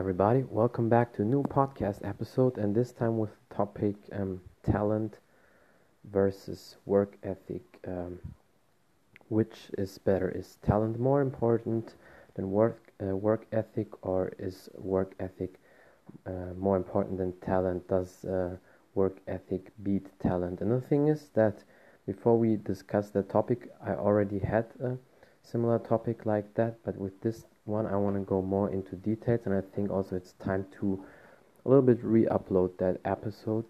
everybody. Welcome back to a new podcast episode, and this time with the topic talent versus work ethic. Which is better? Is talent more important than work ethic, or is work ethic more important than talent? Does work ethic beat talent? And the thing is that before we discuss the topic, I already had a similar topic like that, but with this one, I want to go more into details, and I think also it's time to a little bit re-upload that episode,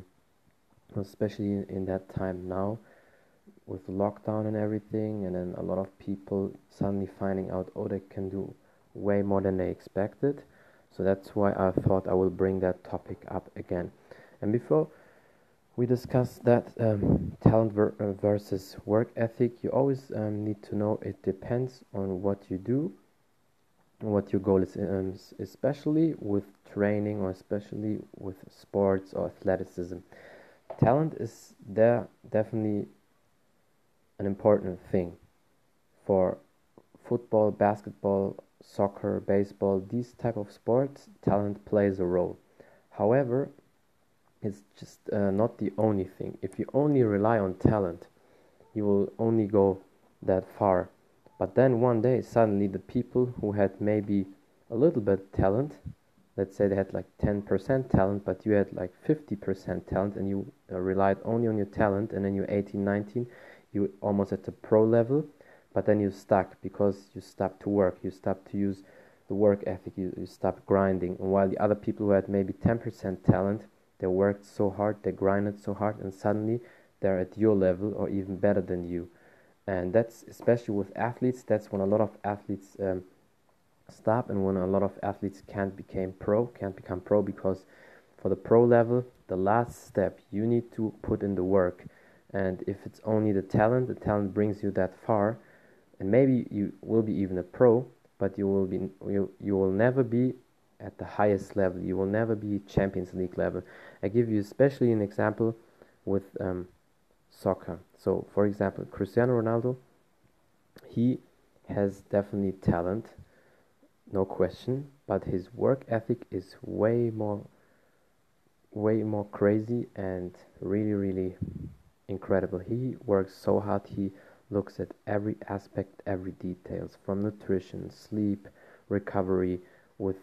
especially in that time now with lockdown and everything, and then a lot of people suddenly finding out, oh, they can do way more than they expected. So that's why I thought I will bring that topic up again. And before we discuss that talent versus work ethic, you always need to know it depends on what you do, what your goal is, especially with training or especially with sports or athleticism. Talent is there definitely an important thing for football, basketball, soccer, baseball, these type of sports. Talent plays a role. However, it's just not the only thing. If you only rely on talent, you will only go that far. But then one day, suddenly the people who had maybe a little bit talent, let's say they had like 10% talent, but you had like 50% talent, and you relied only on your talent, and then you're 18, 19, you almost at the pro level, but then you stuck because you stopped to work, you stopped to use the work ethic, you stopped grinding. And while the other people who had maybe 10% talent, they worked so hard, they grinded so hard, and suddenly they're at your level or even better than you. And that's especially with athletes. That's when a lot of athletes stop, and when a lot of athletes can't become pro, because for the pro level, the last step, you need to put in the work. And if it's only the talent brings you that far, and maybe you will be even a pro, but you will never be at the highest level. You will never be Champions League level. I give you especially an example with soccer. So, for example, Cristiano Ronaldo, he has definitely talent, no question, but his work ethic is way more crazy and really, really incredible. He works so hard. He looks at every aspect, every details, from nutrition, sleep, recovery, with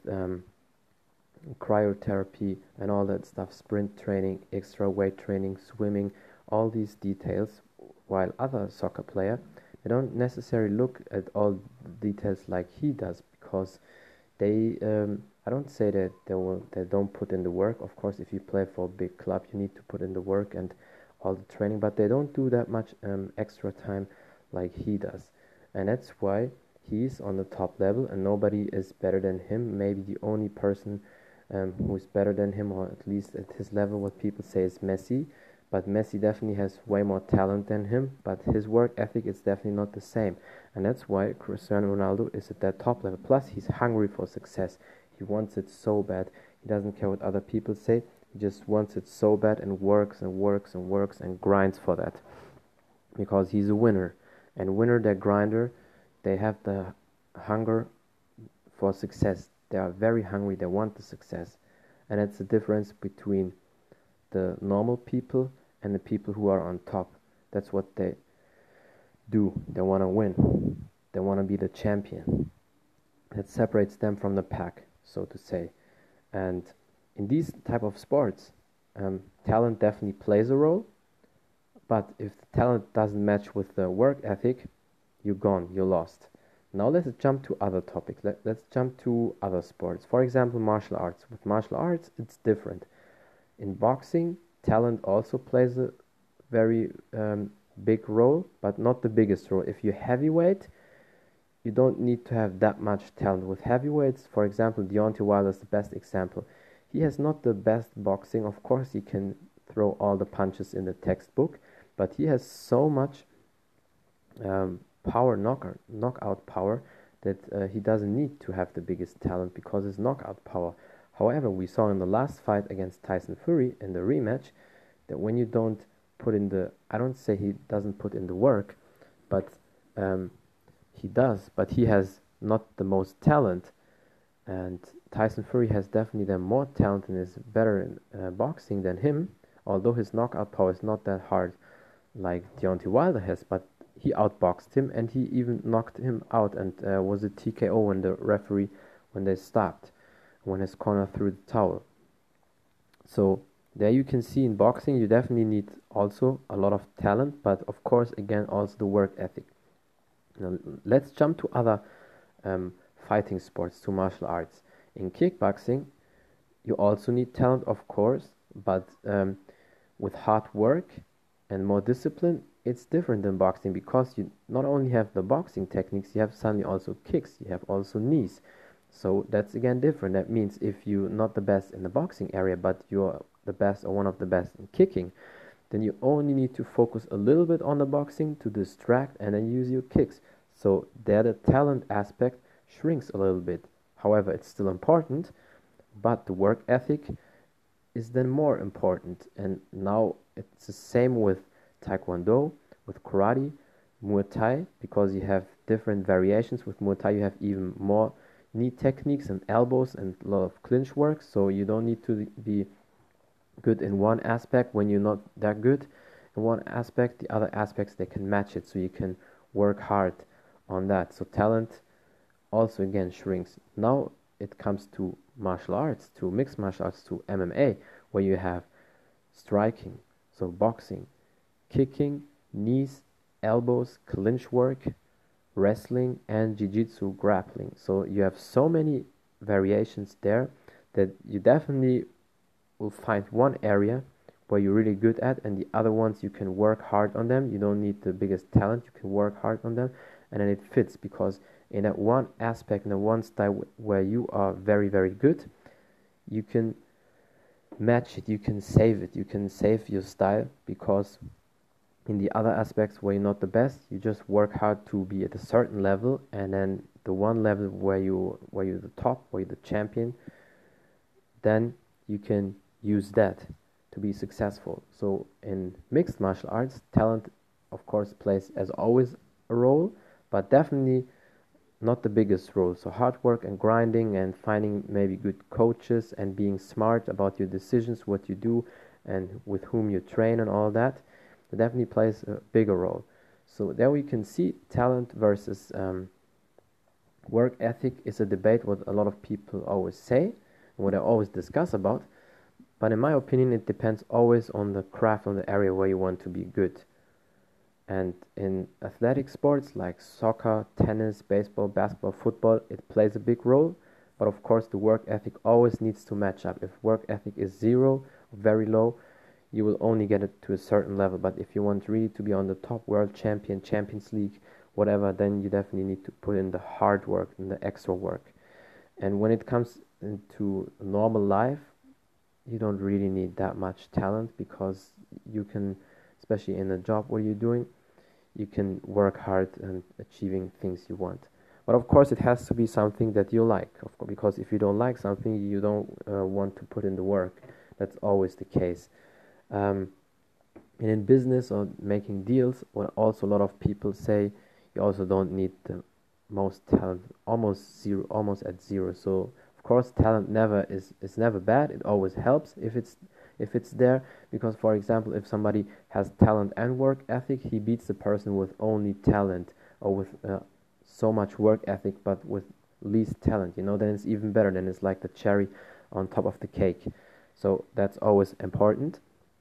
cryotherapy and all that stuff, sprint training, extra weight training, swimming, all these details. While other soccer player, they don't necessarily look at all the details like he does, because they I don't say that they don't put in the work. Of course, if you play for a big club, you need to put in the work and all the training, but they don't do that much extra time like he does. And that's why he's on the top level and nobody is better than him. Maybe the only person who's better than him, or at least at his level, what people say is Messi. But Messi definitely has way more talent than him, but his work ethic is definitely not the same. And that's why Cristiano Ronaldo is at that top level. Plus, he's hungry for success. He wants it so bad. He doesn't care what other people say. He just wants it so bad and works and works and works and grinds for that. Because he's a winner. And winner, they're grinder. They have the hunger for success. They are very hungry. They want the success. And that's the difference between the normal people and the people who are on top. That's what they do. They want to win. They want to be the champion. That separates them from the pack, so to say. And in these type of sports, talent definitely plays a role. But if the talent doesn't match with the work ethic, you're gone. You're lost. Now let's jump to other topics. Let's jump to other sports. For example, martial arts. With martial arts, it's different. In boxing, talent also plays a very big role, but not the biggest role. If you're heavyweight, you don't need to have that much talent. With heavyweights, for example, Deontay Wilder is the best example. He has not the best boxing. Of course, he can throw all the punches in the textbook, but he has so much knockout power, that he doesn't need to have the biggest talent because his knockout power. However, we saw in the last fight against Tyson Fury in the rematch that when you don't put in the, I don't say he doesn't put in the work, but he does, but he has not the most talent. And Tyson Fury has definitely the more talent and is better in boxing than him, although his knockout power is not that hard like Deontay Wilder has, but he outboxed him and he even knocked him out and was a TKO when the referee, when they stopped, when his corner threw the towel. So there you can see in boxing you definitely need also a lot of talent, but of course again also the work ethic. Now let's jump to other um, fighting sports, to martial arts. In kickboxing, you also need talent, of course, but with hard work and more discipline, it's different than boxing because you not only have the boxing techniques, you have suddenly also kicks, you have also knees. So that's again different. That means if you're not the best in the boxing area, but you're the best or one of the best in kicking, then you only need to focus a little bit on the boxing to distract and then use your kicks. So there the talent aspect shrinks a little bit. However, it's still important, but the work ethic is then more important. And now it's the same with Taekwondo, with karate, Muay Thai, because you have different variations. With Muay Thai, you have even more knee techniques and elbows and a lot of clinch work. So you don't need to be good in one aspect when you're not that good in one aspect. The other aspects, they can match it. So you can work hard on that. So talent also again shrinks. Now it comes to martial arts, to mixed martial arts, to MMA, where you have striking, so boxing, kicking, knees, elbows, clinch work, wrestling, and jiu-jitsu, grappling. So you have so many variations there that you definitely will find one area where you're really good at, and the other ones you can work hard on them. You don't need the biggest talent, you can work hard on them, and then it fits because in that one aspect, in that one style where you are very, very good, you can match it, you can save it, you can save your style, because in the other aspects where you're not the best, you just work hard to be at a certain level, and then the one level where you're the top, where you're the champion, then you can use that to be successful. So in mixed martial arts, talent of course plays as always a role, but definitely not the biggest role. So hard work and grinding and finding maybe good coaches and being smart about your decisions, what you do and with whom you train and all that, it definitely plays a bigger role. So there we can see talent versus work ethic is a debate what a lot of people always say and what I always discuss about. But in my opinion, it depends always on the craft, on the area where you want to be good. And in athletic sports like soccer, tennis, baseball, basketball, football, it plays a big role. But of course, the work ethic always needs to match up. If work ethic is zero, very low, you will only get it to a certain level. But if you want really to be on the top world champion, Champions League, whatever, then you definitely need to put in the hard work and the extra work. And when it comes into normal life, you don't really need that much talent because you can, especially in a job what you're doing, you can work hard and achieving things you want. But of course, it has to be something that you like, of course, because if you don't like something, you don't want to put in the work. That's always the case. And in business or making deals, what also a lot of people say, you also don't need the most talent, almost zero, almost at zero. So of course, talent never is never bad. It always helps if it's there, because for example, if somebody has talent and work ethic, he beats the person with only talent or with so much work ethic but with least talent, then it's even better. Then it's like the cherry on top of the cake. So that's always important.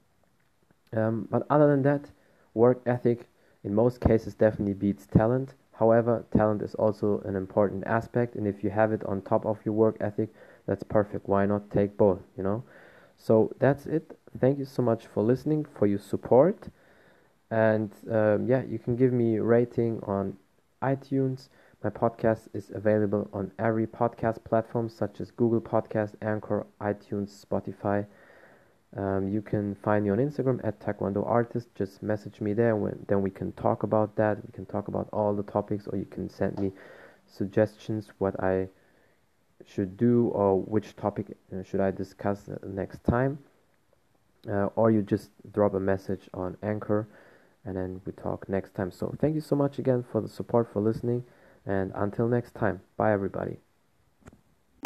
But other than that, work ethic in most cases definitely beats talent. However, talent is also an important aspect, and if you have it on top of your work ethic, that's perfect. Why not take both? So that's it. Thank you so much for listening, for your support. And yeah, you can give me a rating on iTunes. My podcast is available on every podcast platform such as Google Podcast, Anchor, iTunes, Spotify. You can find me on Instagram at Taekwondo Artist. Just message me there. Then we can talk about that. We can talk about all the topics, or you can send me suggestions what I should do or which topic should I discuss next time. Or you just drop a message on Anchor, and then we talk next time. So thank you so much again for the support, for listening, and until next time. Bye, everybody.